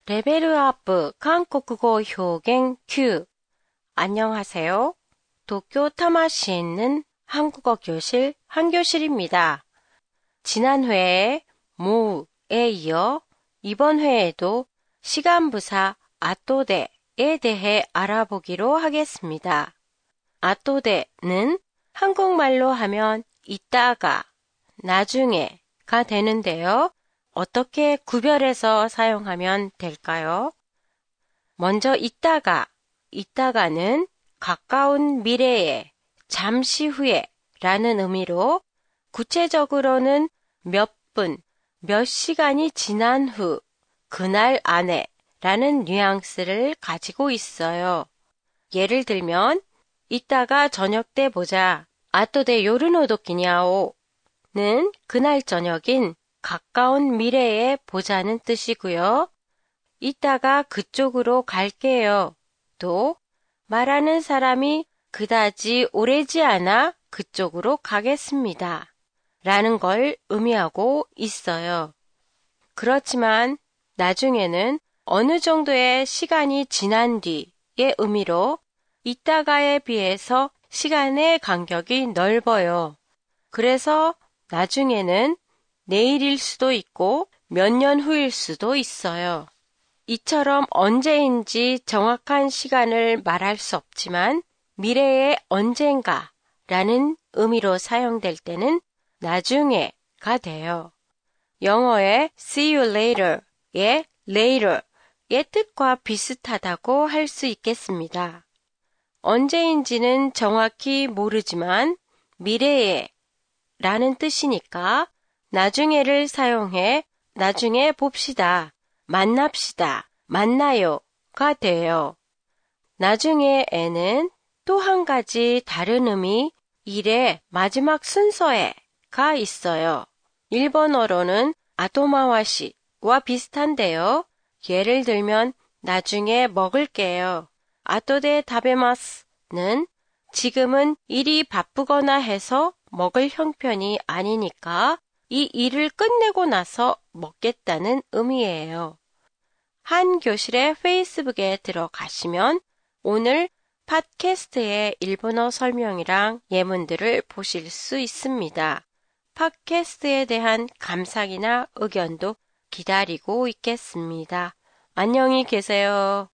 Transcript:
레벨업 한국어 표현 Q. 안녕하세요. 도쿄 타마시에 있는 한국어 교실 한교실입니다. 지난 회에 모에 이어 이번 회에도 시간부사 아또데에 대해 알아보기로 하겠습니다. 아또데는 한국말로 하면 이따가, 나중에가 되는데요. 어떻게 구별해서 사용하면 될까요? 먼저 이따가는 가까운 미래에, 잠시 후에 라는 의미로 구체적으로는 몇 분, 몇 시간이 지난 후, 그날 안에 라는 뉘앙스를 가지고 있어요. 예를 들면 이따가 저녁 때 보자. 아또데 요르노도끼냐오 는 그날 저녁인 가까운 미래에 보자는 뜻이고요. 이따가 그쪽으로 갈게요. 또 말하는 사람이 그다지 오래지 않아 그쪽으로 가겠습니다. 라는 걸 의미하고 있어요. 그렇지만 나중에는 어느 정도의 시간이 지난 뒤의 의미로 이따가에 비해서 시간의 간격이 넓어요. 그래서 나중에는 내일일 수도 있고 몇 년 후일 수도 있어요. 이처럼 언제인지 정확한 시간을 말할 수 없지만 미래의 언젠가라는 의미로 사용될 때는 나중에가 돼요. 영어의 see you later의 later의 뜻과 비슷하다고 할 수 있겠습니다. 언제인지는 정확히 모르지만 미래에 라는 뜻이니까 나중에를 사용해 나중에 봅시다, 만납시다, 만나요가 돼요. 나중에에는 또 한 가지 다른 의미, 일의 마지막 순서에가 있어요. 일본어로는 아토마와시와 비슷한데요. 예를 들면 나중에 먹을게요. 아토데 타베마스는 지금은 일이 바쁘거나 해서 먹을 형편이 아니니까 이 일을 끝내고 나서 먹겠다는 의미예요. 한 교실의 페이스북에 들어가시면 오늘 팟캐스트의 일본어 설명이랑 예문들을 보실 수 있습니다. 팟캐스트에 대한 감상이나 의견도 기다리고 있겠습니다. 안녕히 계세요.